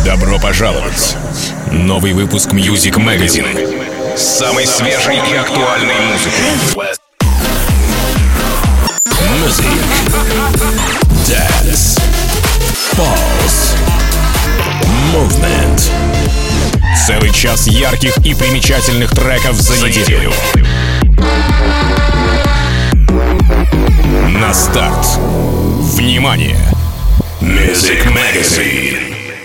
Добро пожаловать! Новый выпуск Music Magazine с самой свежей и актуальной музыкой. Music, Dance, Pulse, Movement. Целый час ярких и примечательных треков за неделю. На старт. Внимание! Music Magazine.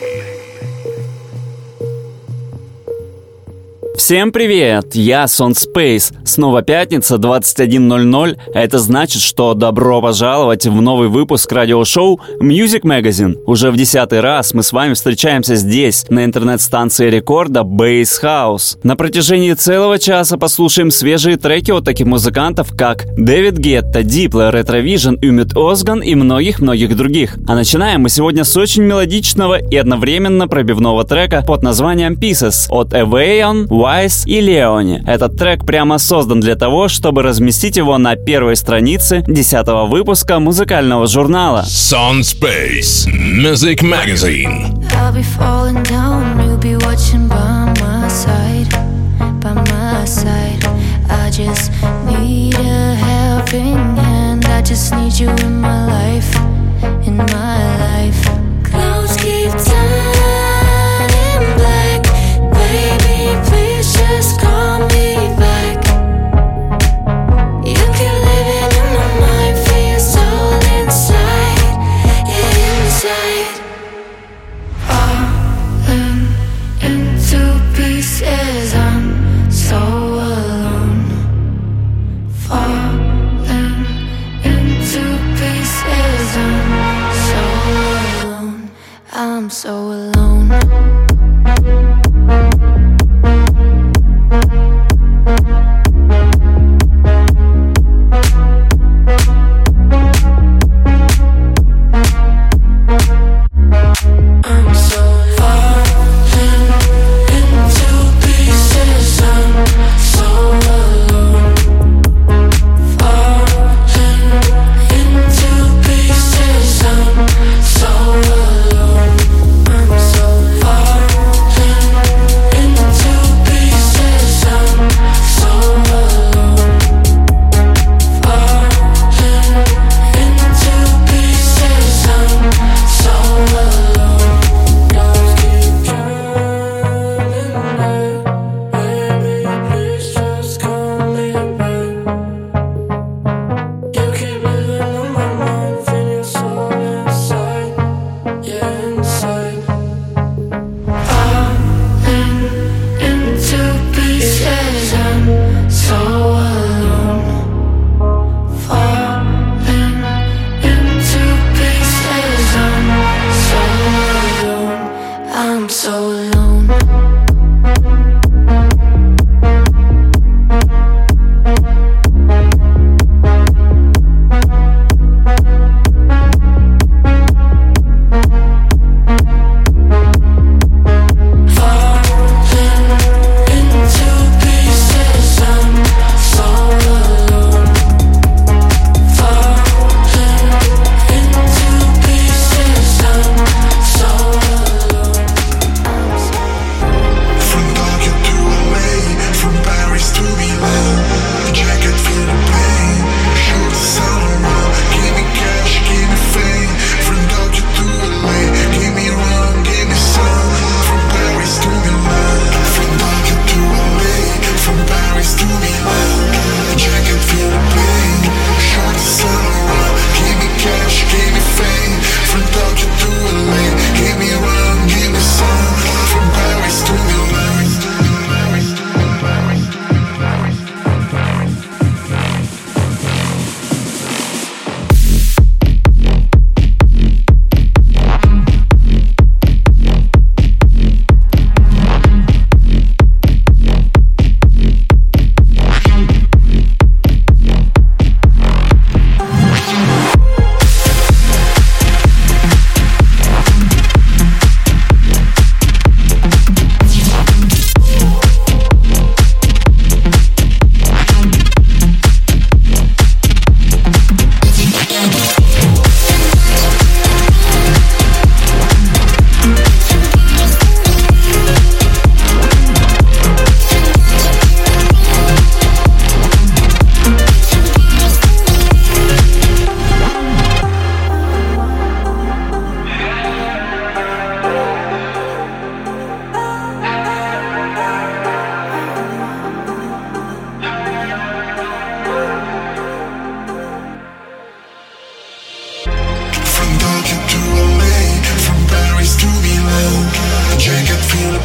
Всем привет, я Сон Спейс. Снова пятница, 21:00. Это значит, что добро пожаловать в новый выпуск радиошоу Music Magazine. Уже в 10-й раз мы с вами встречаемся здесь, на интернет-станции рекорда Bass House. На протяжении целого часа послушаем свежие треки от таких музыкантов, как Дэвид Гетта, Diplo, Retrovision, Умит Озган и многих-многих других. А начинаем мы сегодня с очень мелодичного и одновременно пробивного трека под названием Pieces от Evayon, Wise и Leone. Этот трек прямо создан для того, чтобы разместить его на первой странице 10-го выпуска музыкального журнала Son Space Music Magazine. I'll be falling down, you'll be watching by my side, by my side. I just need a helping hand. I just need you in my life, in my life. Clouds keep turning black, baby, please just call me back. You keep living in my mind, feel your soul inside, inside. Falling into pieces, I'm so alone. Falling into pieces, I'm so alone. I'm so alone.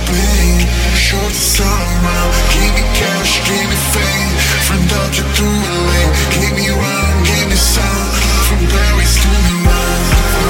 pain. Show the sun around. Give me cash, give me fame. From Dodger to LA. Give me run, give me sound. From Paris to Milan.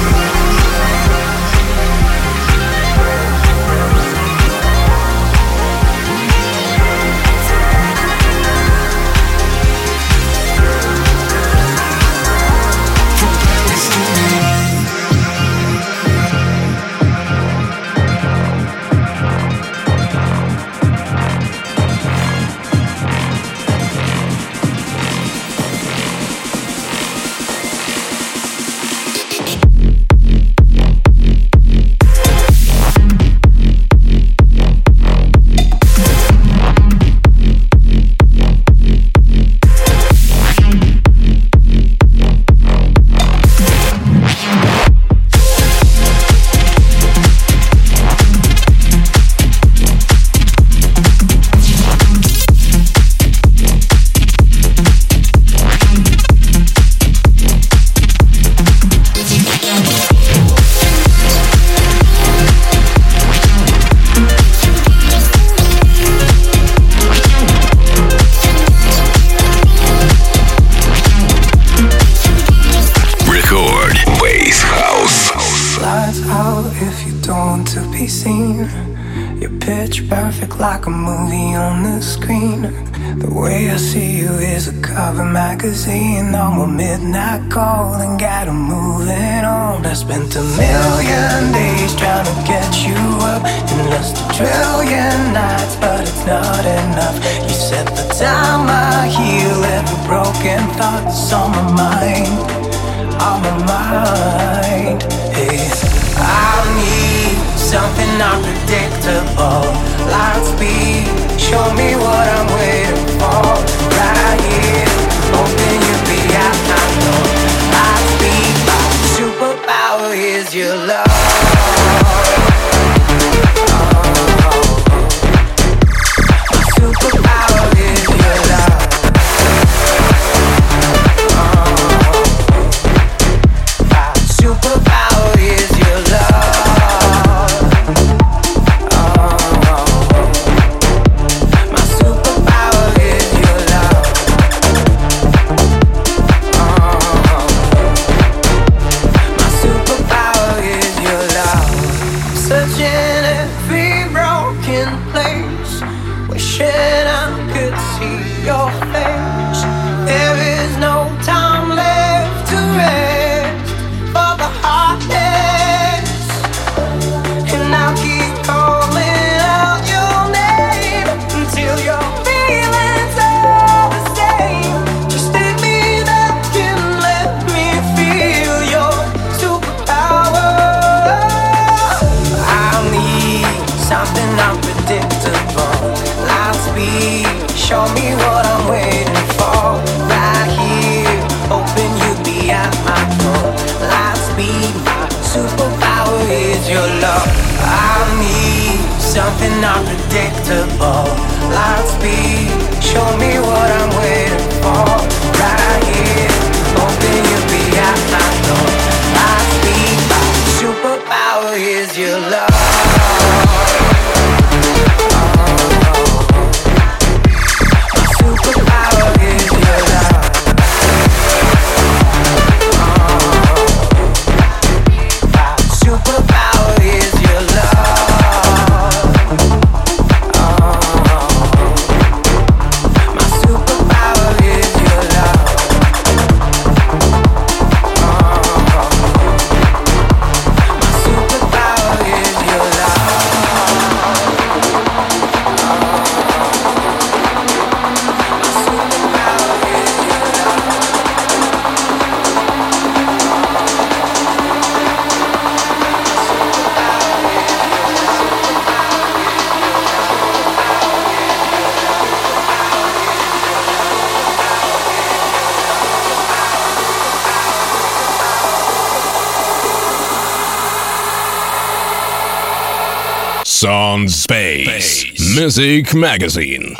Like a movie on the screen. The way I see you is a cover magazine. I'm a midnight call and gotta moving on. I spent 1,000,000 days trying to get you up and lost 1,000,000,000 nights, but it's not enough. You said the time I heal every broken thought's on my mind, on my mind. Hey, I need something unpredictable. Light speed, show me what I'm waiting for. Right here, hoping you'll be at my door. Light speed, my superpower is your love. My superpower is your love. My superpower is your love. Show me what I'm waiting for. Right here, hoping you'll be at my door. Light speed, my superpower is your love. I need something unpredictable. Light speed, show me what I'm waiting for. Right here, hoping you'll be at my door. Light speed, my superpower is your love. Sound Space Music Magazine.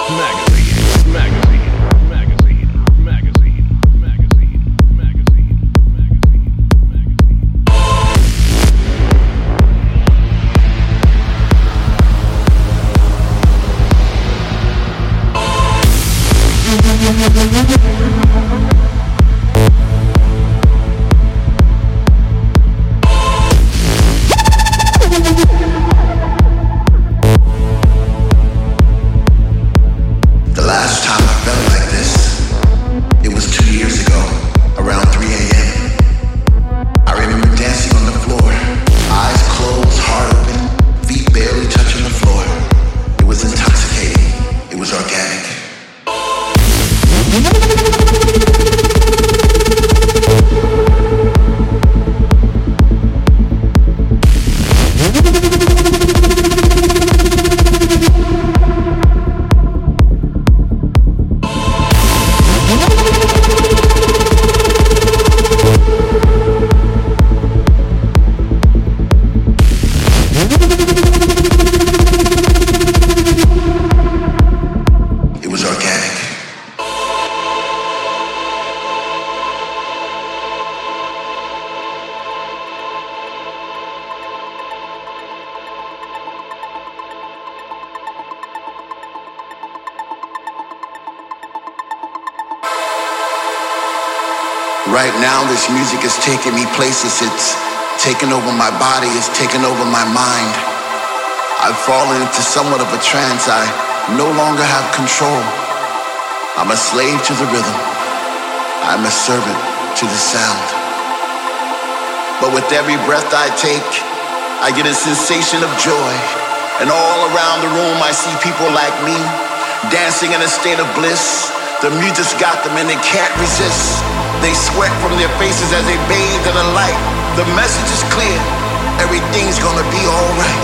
Right now, this music is taking me places. It's taken over my body, it's taken over my mind. I've fallen into somewhat of a trance. I no longer have control. I'm a slave to the rhythm. I'm a servant to the sound. But with every breath I take, I get a sensation of joy. And all around the room, I see people like me, dancing in a state of bliss. The music's got them and they can't resist. They sweat from their faces as they bathe in the light. The message is clear. Everything's gonna be alright.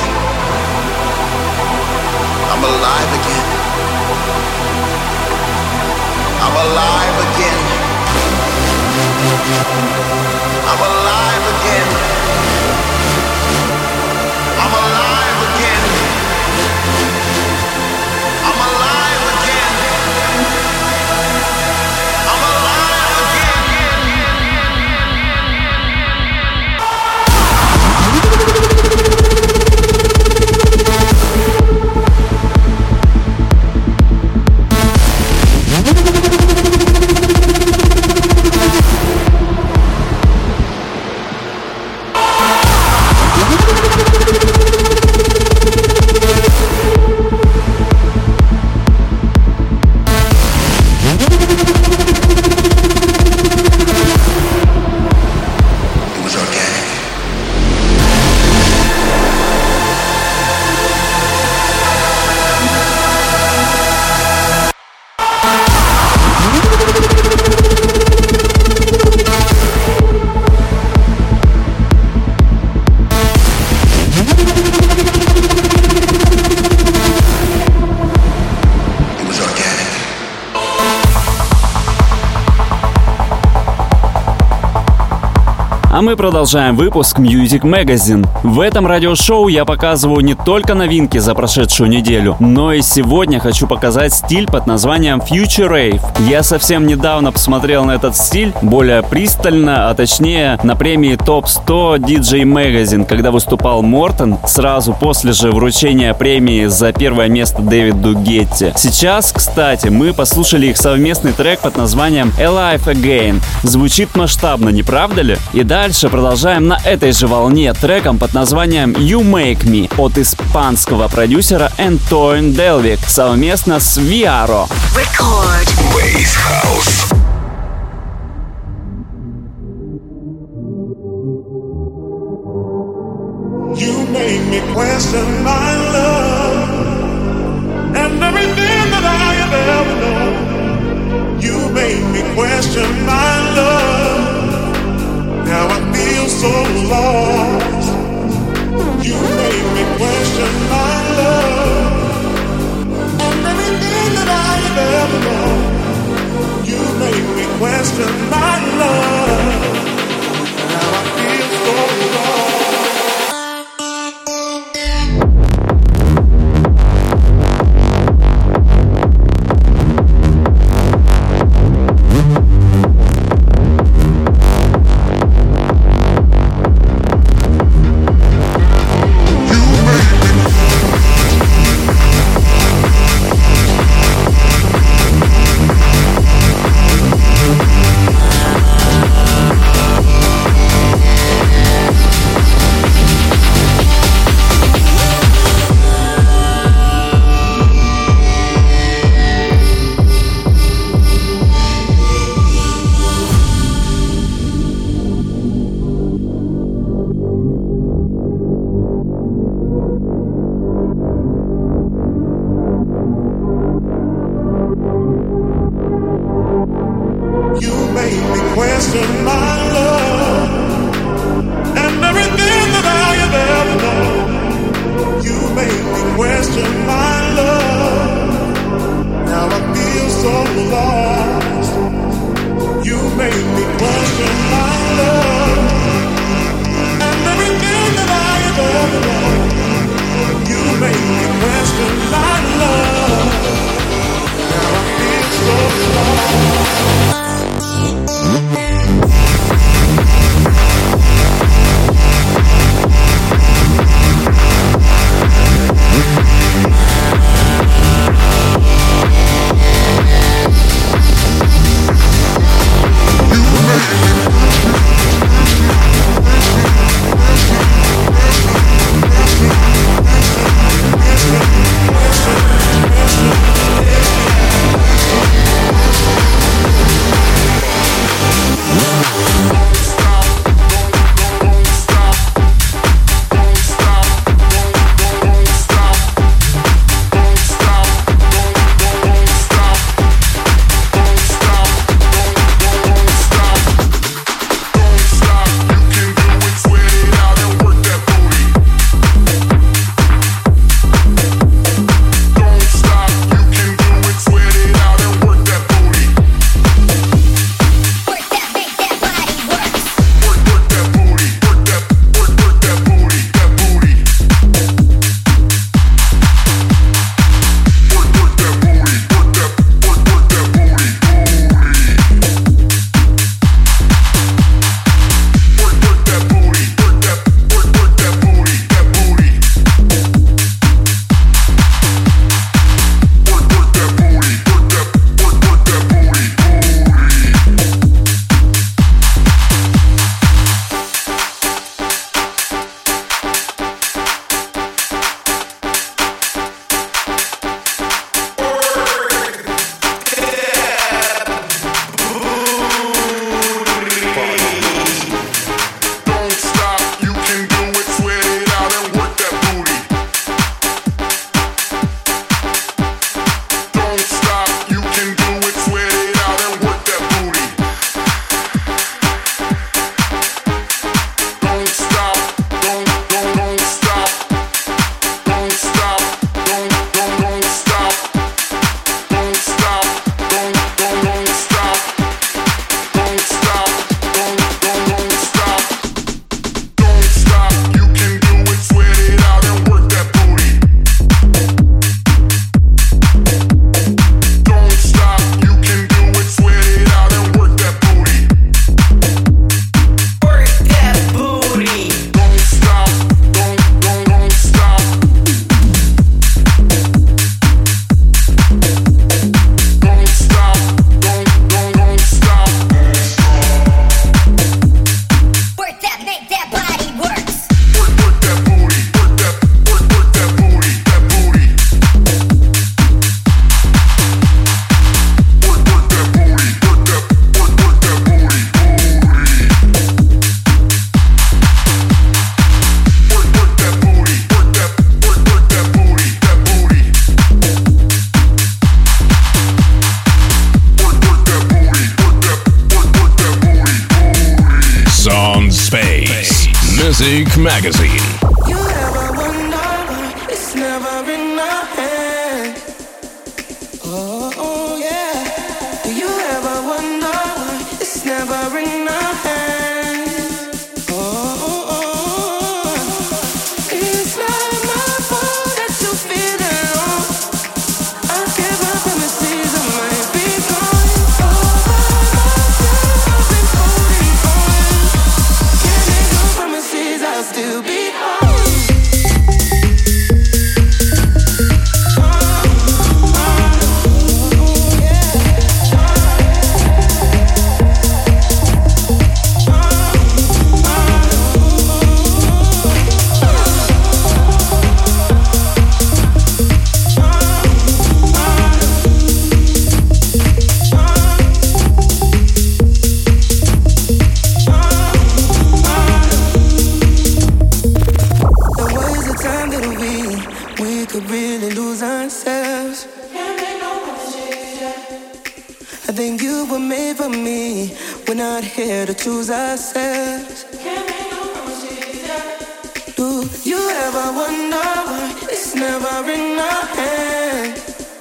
I'm alive again. I'm alive again. I'm alive again. I'm alive again. I'm alive again. I'm alive again. А мы продолжаем выпуск Music Magazine. В этом радиошоу я показываю не только новинки за прошедшую неделю, но и сегодня хочу показать стиль под названием Future Rave. Я совсем недавно посмотрел на этот стиль более пристально, а точнее на премии Top 100 DJ Magazine, когда выступал Мортен, сразу после же вручения премии за первое место Дэвиду Гетти. Сейчас, кстати, мы послушали их совместный трек под названием Alive Again. Звучит масштабно, не правда ли? И дальше продолжаем на этой же волне треком под названием You Make Me от испанского продюсера Антоин Делвик совместно с Viaro. Record Bass House. You make me question my love and everything that I have ever known. You make me question my love. Now I feel so lost. You make me question my love and everything that I have ever known. You make me question my love. Now I feel so lost. You make Music Magazine. You ever wonder why it's never in our hands? Oh yeah. Do you ever wonder why it's never in our hands? Oh, it's not my fault that you feel alone. I give up promises I might be gone. All by myself I've been holding on. Can't make no promises I'll still be home. Could really lose ourselves. I think you were made for me. We're not here to choose ourselves. Do you ever wonder why it's never in our hands?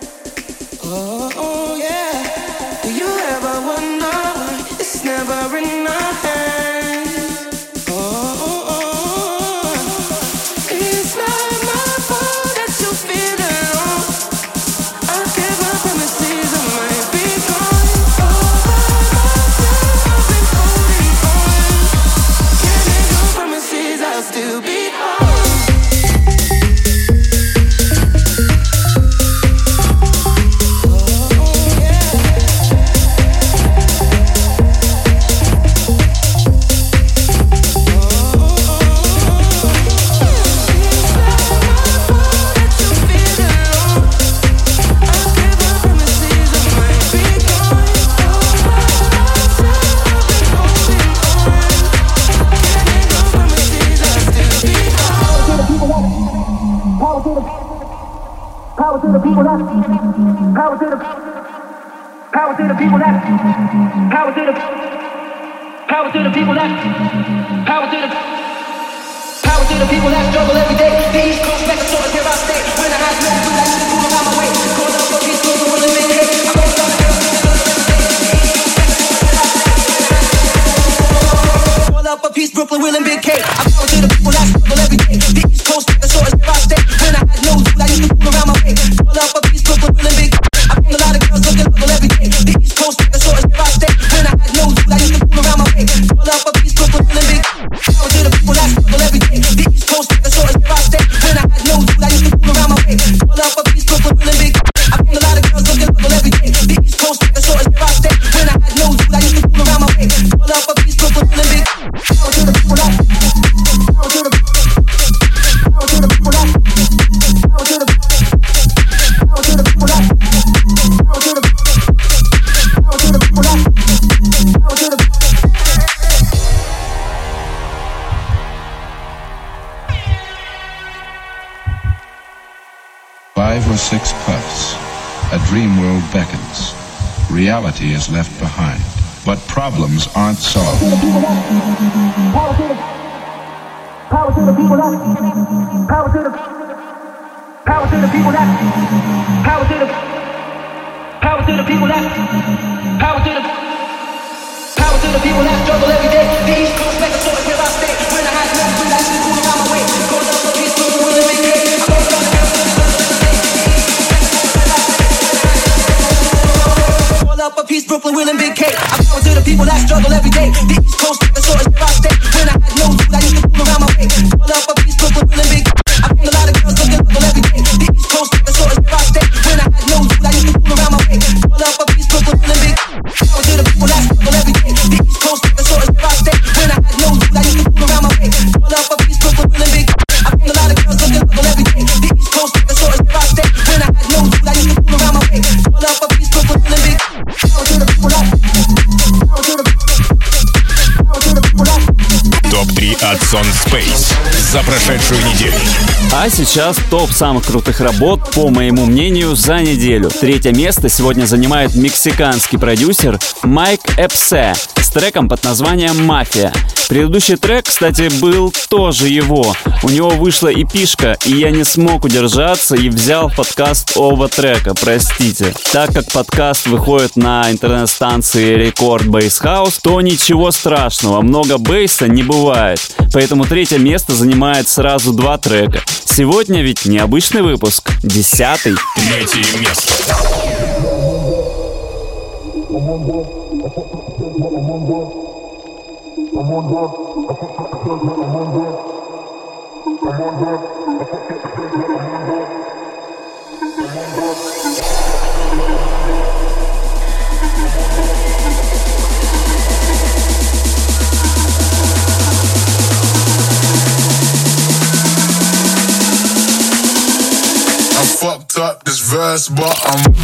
Oh yeah. Do you ever wonder why it's never in our hands? It's not my fault that you feel alone. I give up promises I might be gone. All by myself I've been holding on. Can't make no promises I'll still be home. Power to the people that power to the people that power to the people that struggle every day. The East Coast like a sword, here I stay. When I have no food, I used to move around my way. Going up for peace, going to will and make hay. I'm going to going up for peace, Brooklyn, Will and Big K. I'm power to the people that struggle every day. The East Coast like a sword, here I stay. When I had no food, I used to move around my way. Going up for peace, Brooklyn, Will and Big K. I found a lot of girls looking level every day. The East Coast like a sword, here I stay. When I had no food, I used to move around my way. Going up for peace, Brooklyn, Will and Big K. Power to the people that struggle every day. The East Coast like a sword, here I stay. When I had no food, I used to move around my way. Going up for peace, Brooklyn, Will and Big K. I found a lot of girls looking level every day. The East Coast like a sword, here I stay. When I had no food, I used to move around my way. Going up for peace, Brooklyn, Will and Big K. Power to the people that power to the people that power to the people that power to the people that power to the 5 or 6 puffs. A dream world beckons. Reality is left behind, but problems aren't solved. Power to the people that power to the people that power to the people that power to the people that struggle every day. The East Coast like a sword, here I stay. When I had no food, I used to move around my way. Going up for peace, going to will and make hay. Going up for peace, Brooklyn, Will and Big K. I power to the people that struggle every day. The East Coast like a sword, here I stay. When I had no food, I used to move around my way. Going up for peace, Brooklyn, Will and Big K. I found a lot of girls looking level every day. The East Coast like a sword, here I stay. When I had no food, I used to move around my way. Going up for peace, Brooklyn, Will and Big K. Power to the people that struggle every day. The East Coast like a sword, here I stay. When I had no food, I used to move around my way. Going up for peace, Brooklyn, Will and Big K. I found a lot of girls looking level every day. The East Coast like a sword, here I stay. When I had no food, I used to move around my way. Going up for peace, Brooklyn, Will and Big K. Power to the people that power to the people that. Топ-3 от Son Space за прошедшую неделю. А сейчас топ самых крутых работ, по моему мнению, за неделю. 3-е место сегодня занимает мексиканский продюсер Майк Эпсе с треком под названием «Мафия». Предыдущий трек, кстати, был тоже его. У него вышла эпишка, и я не смог удержаться и взял подкаст оба трека, простите. Так как подкаст выходит на интернет-станции Record Bass House, то ничего страшного, много бейса не бывает. Поэтому третье место занимает сразу два трека. Сегодня ведь необычный выпуск, 10-й. Третье место. I fucked up this verse, but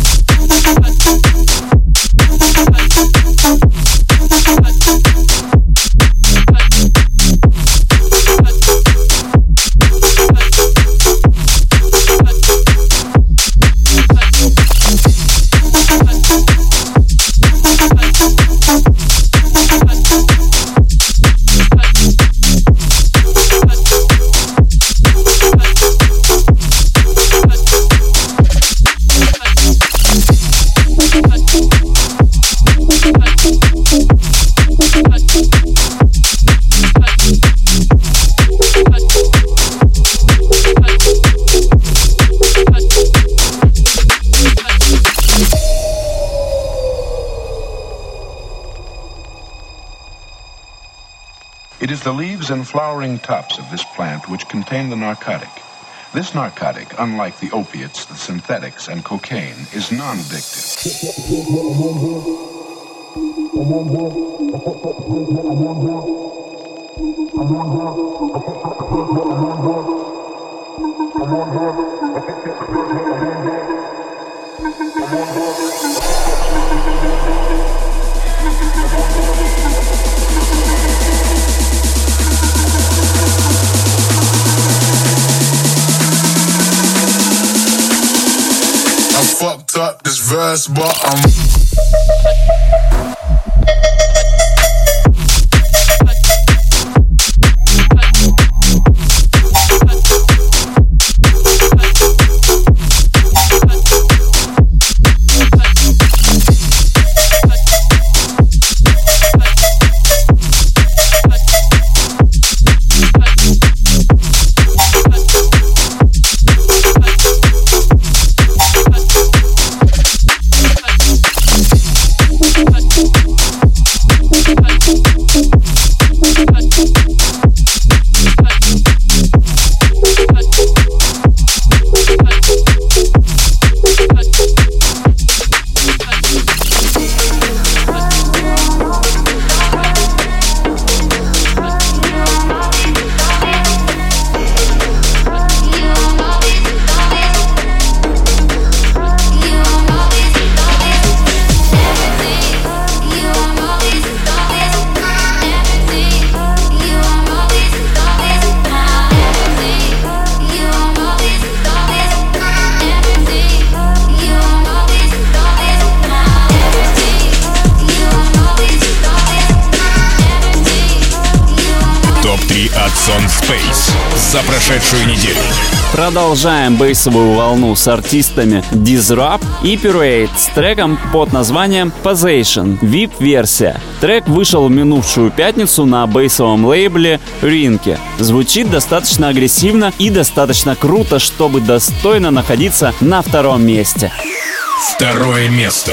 It is the leaves and flowering tops of this plant which contain the narcotic. This narcotic, unlike the opiates, the synthetics, and cocaine, is non-addictive. I fucked up this verse, but От Сон Space за прошедшую неделю. Продолжаем бейсовую волну с артистами Disrupt и Parade с треком под названием Possession, VIP-версия. Трек вышел в минувшую пятницу на бейсовом лейбле Rinke. Звучит достаточно агрессивно и достаточно круто, чтобы достойно находиться на втором месте. Второе место.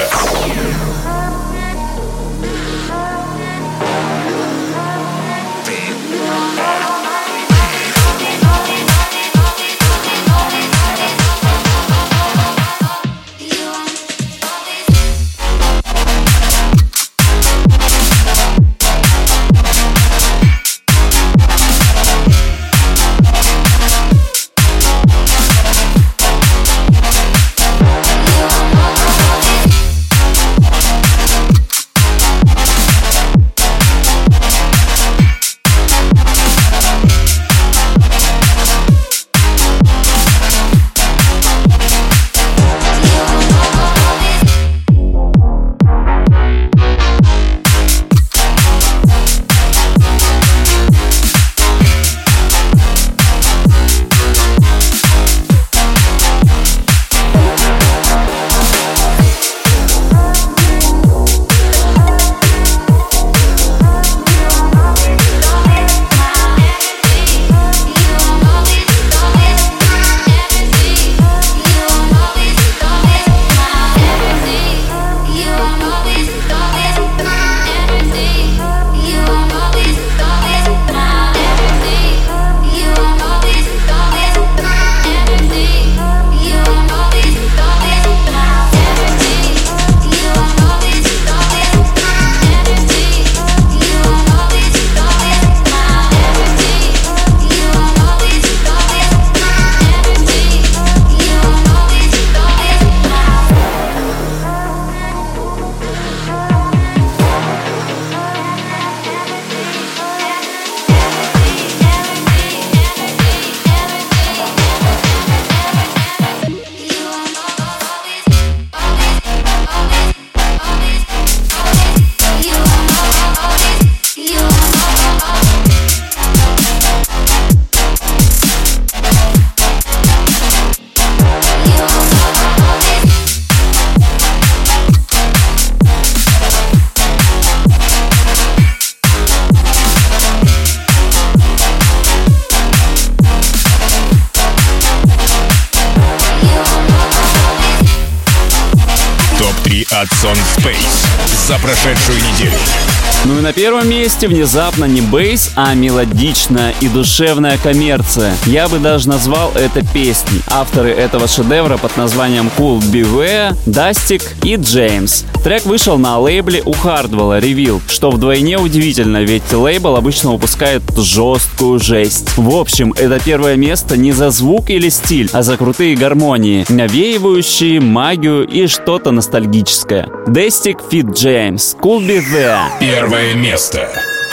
новинки от Sound Space за прошедшую неделю. Ну и на первом месте внезапно не бейс, а мелодичная и душевная коммерция. Я бы даже назвал это песней. Авторы этого шедевра под названием Cool Beware, Dustic и James. Трек вышел на лейбле у Hardwell Reveal, что вдвойне удивительно, ведь лейбл обычно выпускает жесткую жесть. В общем, это первое место не за звук или стиль, а за крутые гармонии, навеивающие магию и что-то ностальгическое. Dustic feat. James, Cool Beware. Первое место.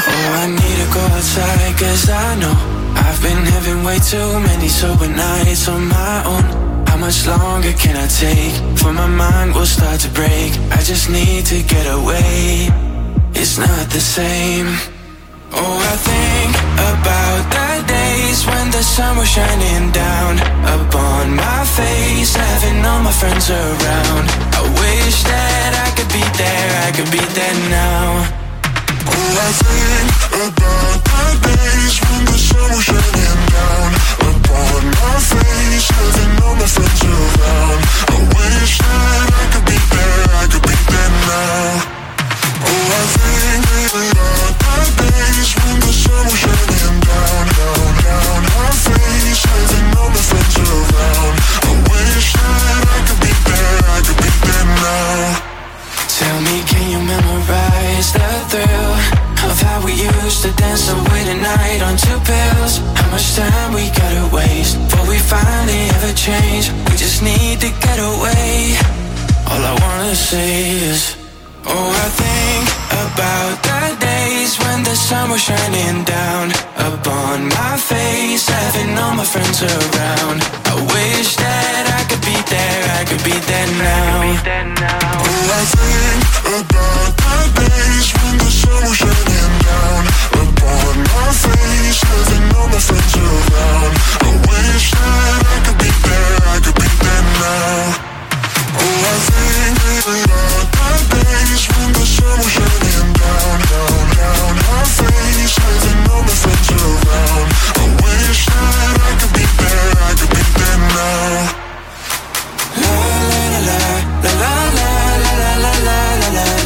I've been having way too many sober nights on my own. How much longer can I take? For my mind will start to break. I just need to get away. It's not the same. Oh, I think about the days when the sun was shining down upon my face, having all my friends around. I wish that I could be there now. Oh, I think about the days when the sun was shining down upon my face, having all my friends around. I wish that I could be there now. Oh, I think about the days when the sun was shining down my face, having all my friends around. I wish that I could be there now. Tell me, can you memorize the thrill of how we used to dance away the night on 2 pills? How much time we gotta waste before we finally ever change? We just need to get away. All I wanna say is, oh, I think about the days when the sun was shining down upon my face, having all my friends around. I wish that I could be there now. Oh, I think about the days when the sun was shining down upon my face, having all my friends around. I wish that I could be there now. Oh, I think about the days when the sun was shining down my face, having all my friends around. I wish that I could be there now. La la la la la la la la la la la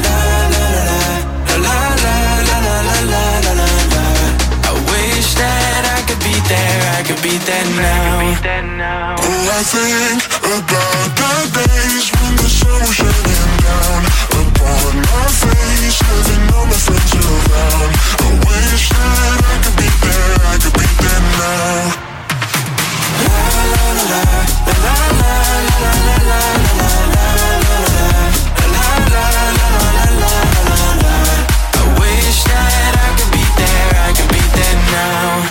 la la la la. I wish that I could be there now. Oh, I think about the days when the sun was shining down upon my face, having all my friends around. I wish that I could be there now. La la la la la la la la la la. I wish that I could be there now.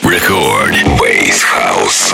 Record Bass House.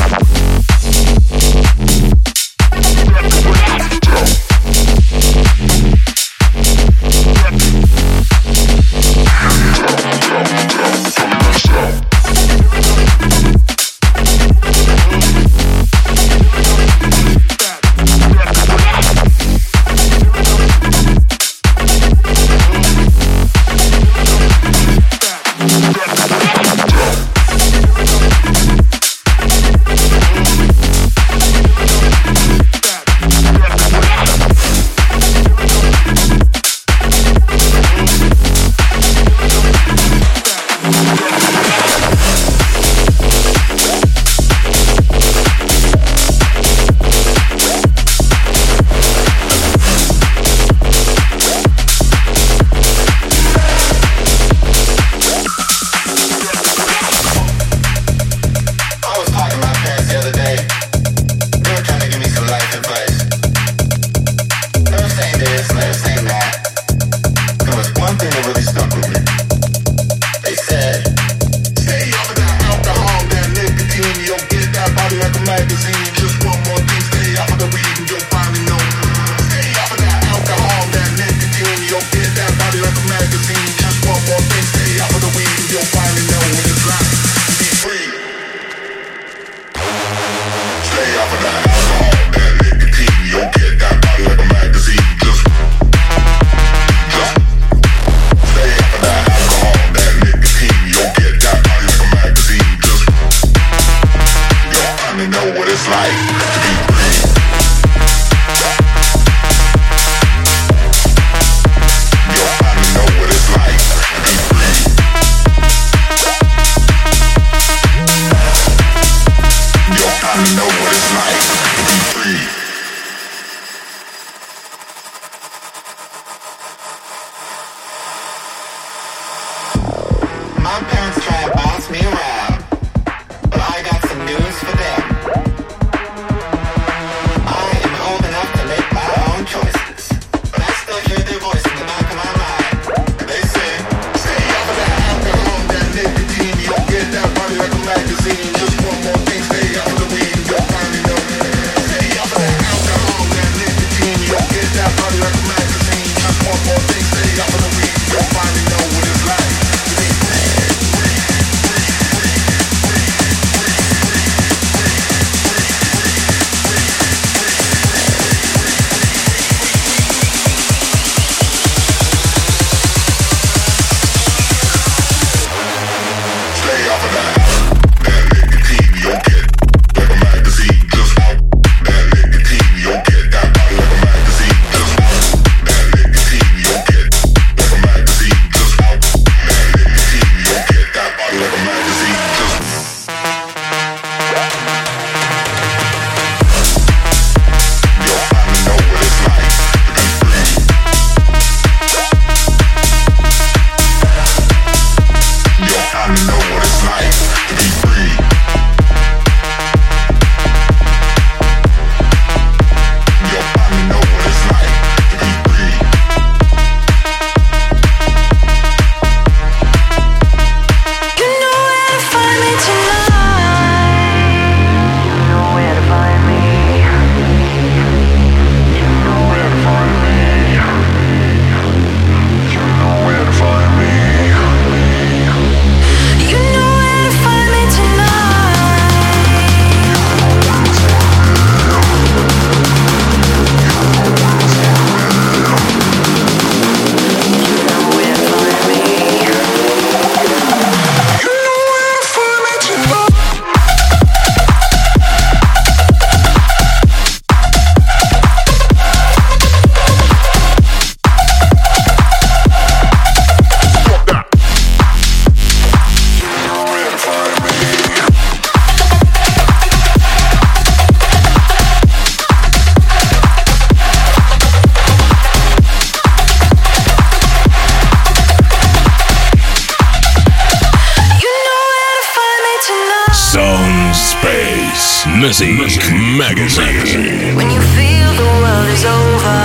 Music Magazine. When you feel the world is over,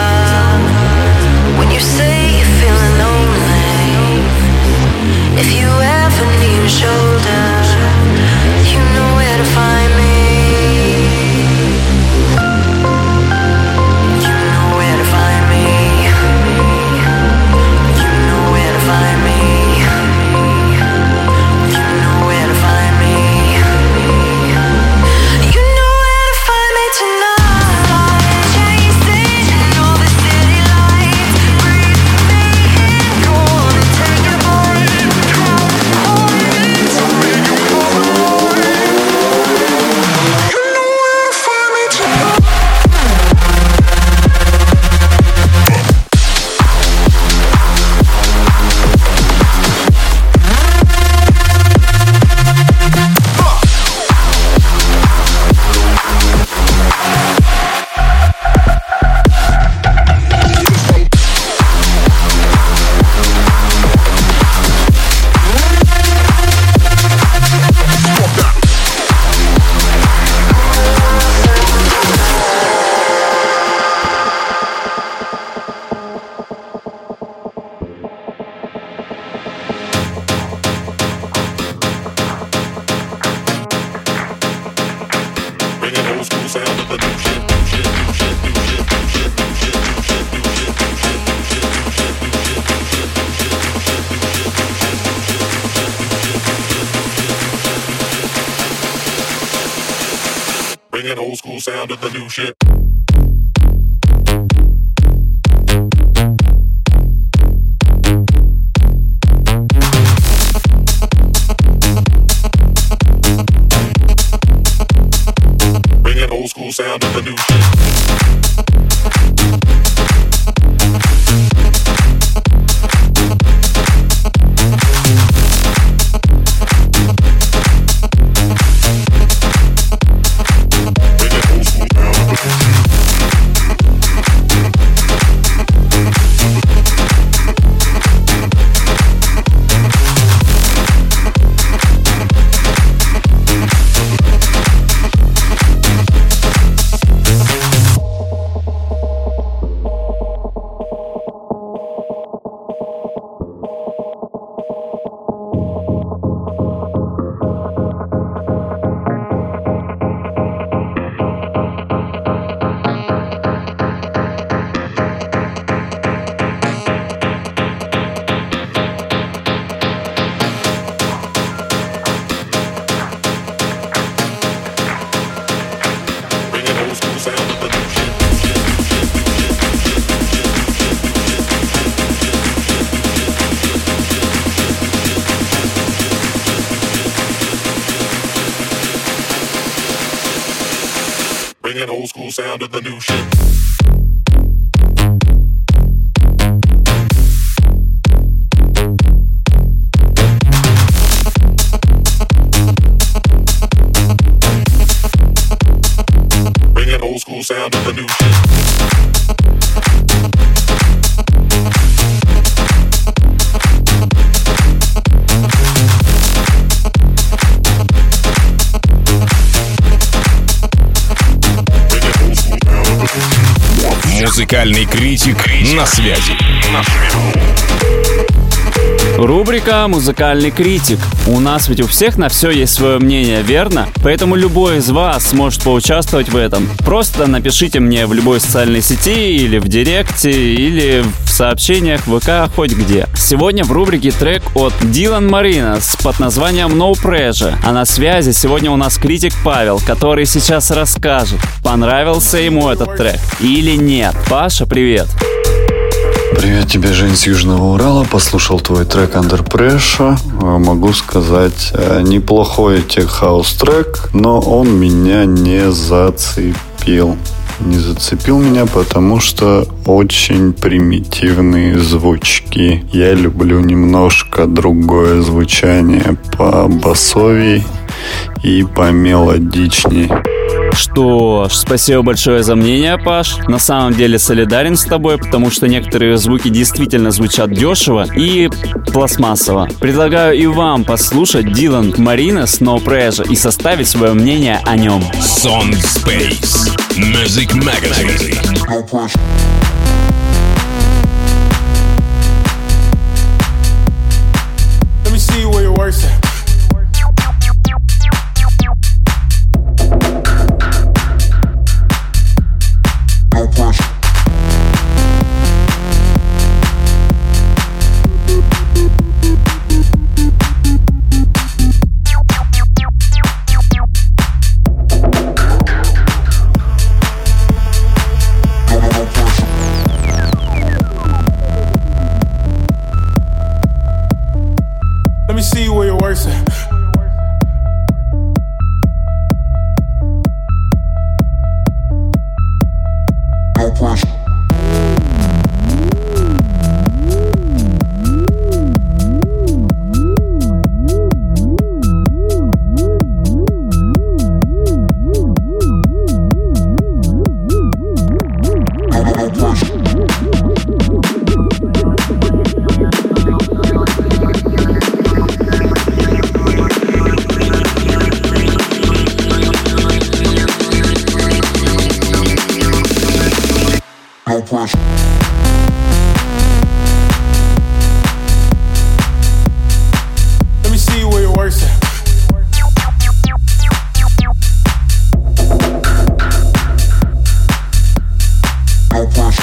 when you say you're feeling lonely, if you ever need a shoulder, Bringing old school sound to the new shit. Bringing old school sound to the new shit. Bringing old school sound to the new shit. Bringing old school sound to the new shit. Музыкальный критик на связи. Рубрика «Музыкальный критик». У нас ведь у всех на все есть свое мнение, верно? Поэтому любой из вас сможет поучаствовать в этом. Просто напишите мне в любой социальной сети или в директе, или в сообщениях ВК, хоть где. Сегодня в рубрике трек от Dylan Marinas под названием No Pressure. А на связи сегодня у нас критик Павел, который сейчас расскажет, понравился ему этот трек или нет. Паша, привет! Привет тебе, Жень, с Южного Урала. Послушал твой трек Under Pressure. Могу сказать, неплохой тех-хаус трек, но он меня не зацепил. Не зацепил меня, потому что очень примитивные звучки. Я люблю немножко другое звучание, по басовей и по мелодичней. Что ж, спасибо большое за мнение, Паш. На самом деле солидарен с тобой, потому что некоторые звуки действительно звучат дешево и пластмассово. Предлагаю и вам послушать Dylan Marinas No Pressure и составить свое мнение о нем. Sound Space Music Magazine. Let me see where your work's at. Let me see where your work's at. No pressure. Let me see where your work's at. No pressure.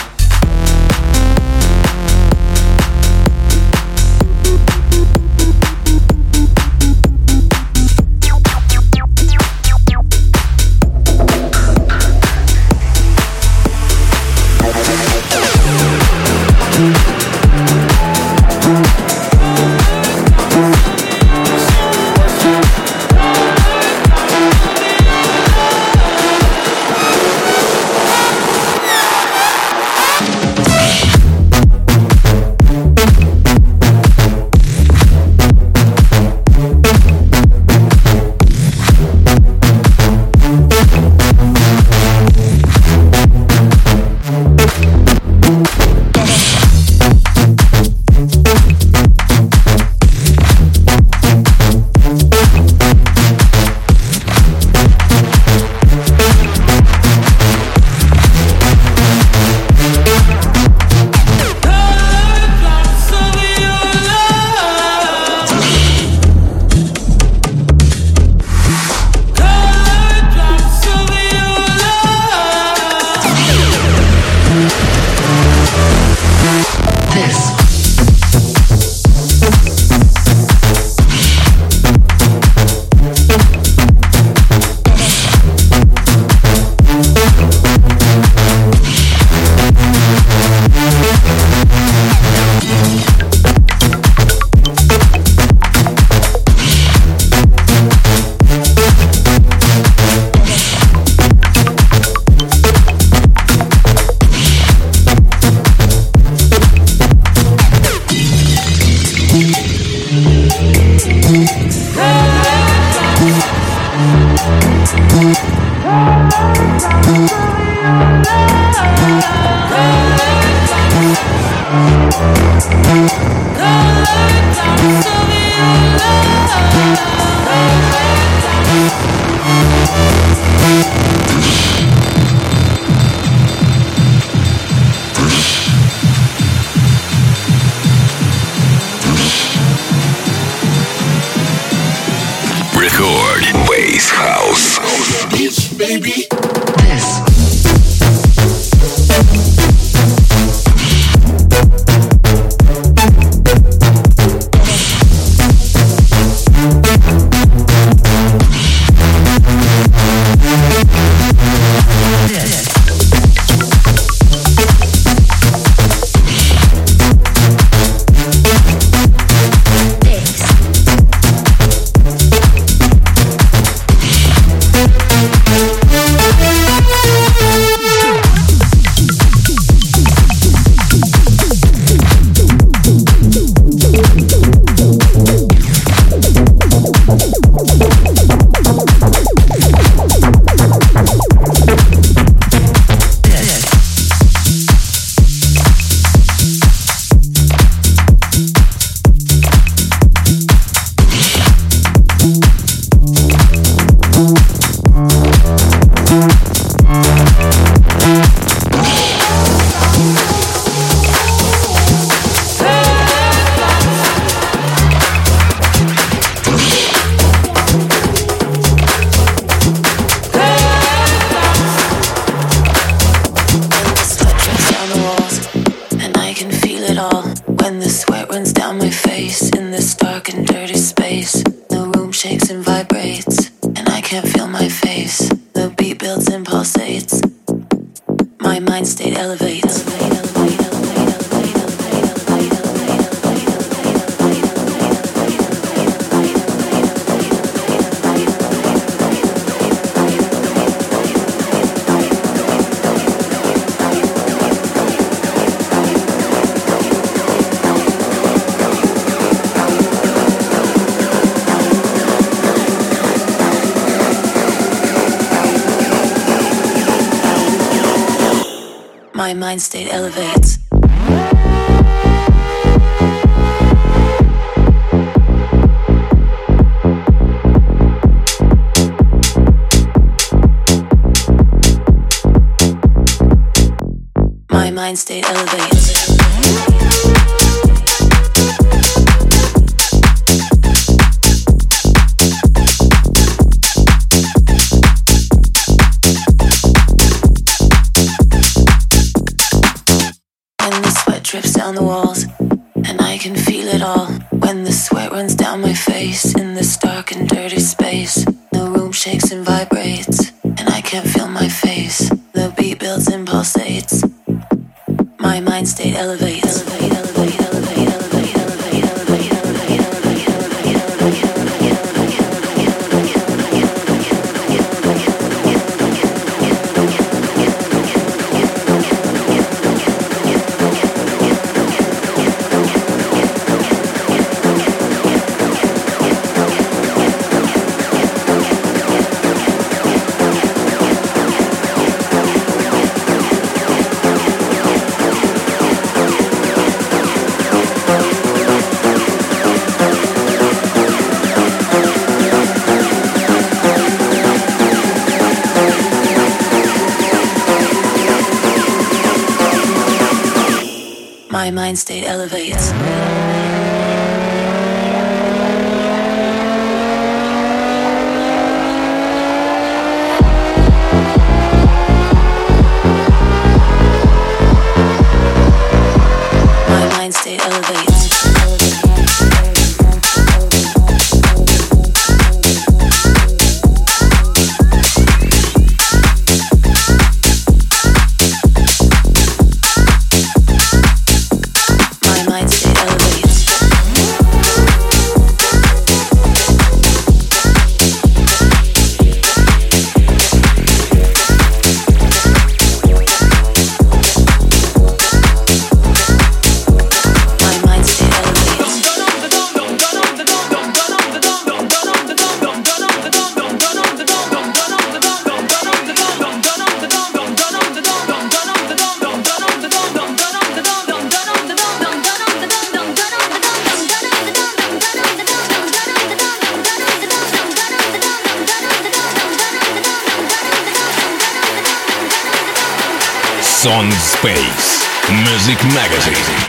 Record Bass House. Bitch, baby. My mind state elevates. My mind state elevates. Drips down the walls, and I can feel it all. When the sweat runs down my face in this dark and dirty space, the room shakes and vibrates, and I can't feel my face. The beat builds and pulsates. My mind state elevates. Elevate, elevate, elevate, elevate, elevate, elevate, elevate, elevate, elevate, elevate, elevate, my mind state elevates. My mind state elevates. My mind Son Space Music Magazine.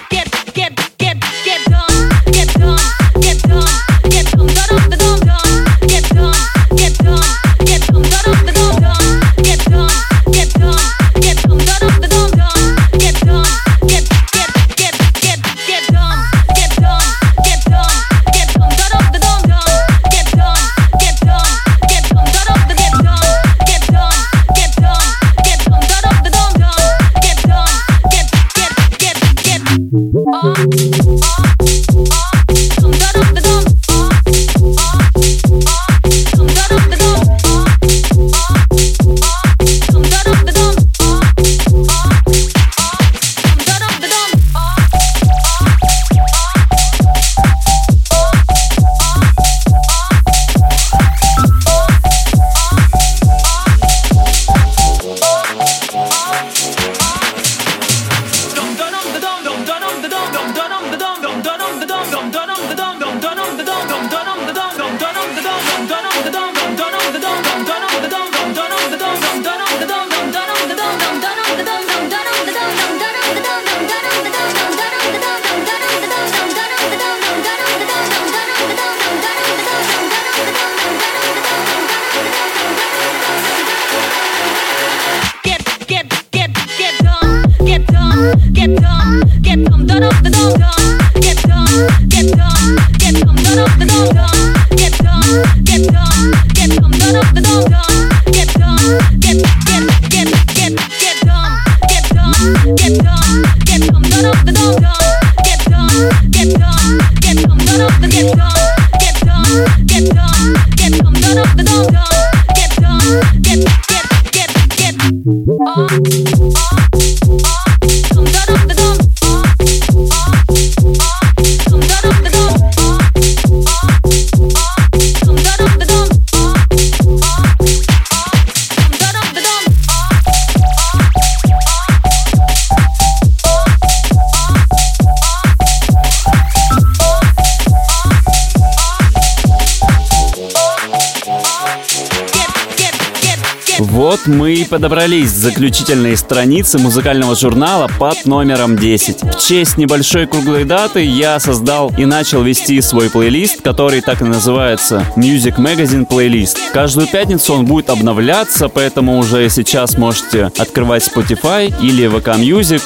Вот мы и подобрались к заключительной странице музыкального журнала под номером 10. В честь небольшой круглой даты я создал и начал вести свой плейлист, который так и называется Music Magazine Playlist. Каждую пятницу он будет обновляться, поэтому уже сейчас можете открывать Spotify или VK Music,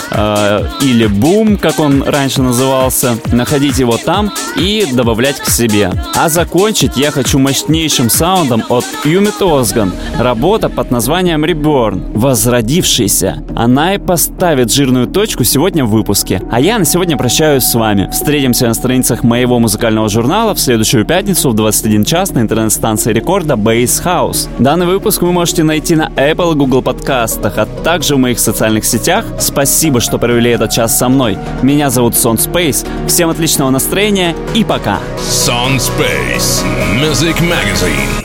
или Boom, как он раньше назывался, находить его там и добавлять к себе. А закончить я хочу мощнейшим саундом от Умит Озган. Работа под названием Reborn, возродившийся. Она и поставит жирную точку сегодня в выпуске. А я на сегодня прощаюсь с вами. Встретимся на страницах моего музыкального журнала в следующую пятницу в 21 час на интернет-станции рекорда Bass House. Данный выпуск вы можете найти на Apple и Google подкастах, а также в моих социальных сетях. Спасибо, что провели этот час со мной. Меня зовут Son Space. Всем отличного настроения и пока. Son Space Music Magazine.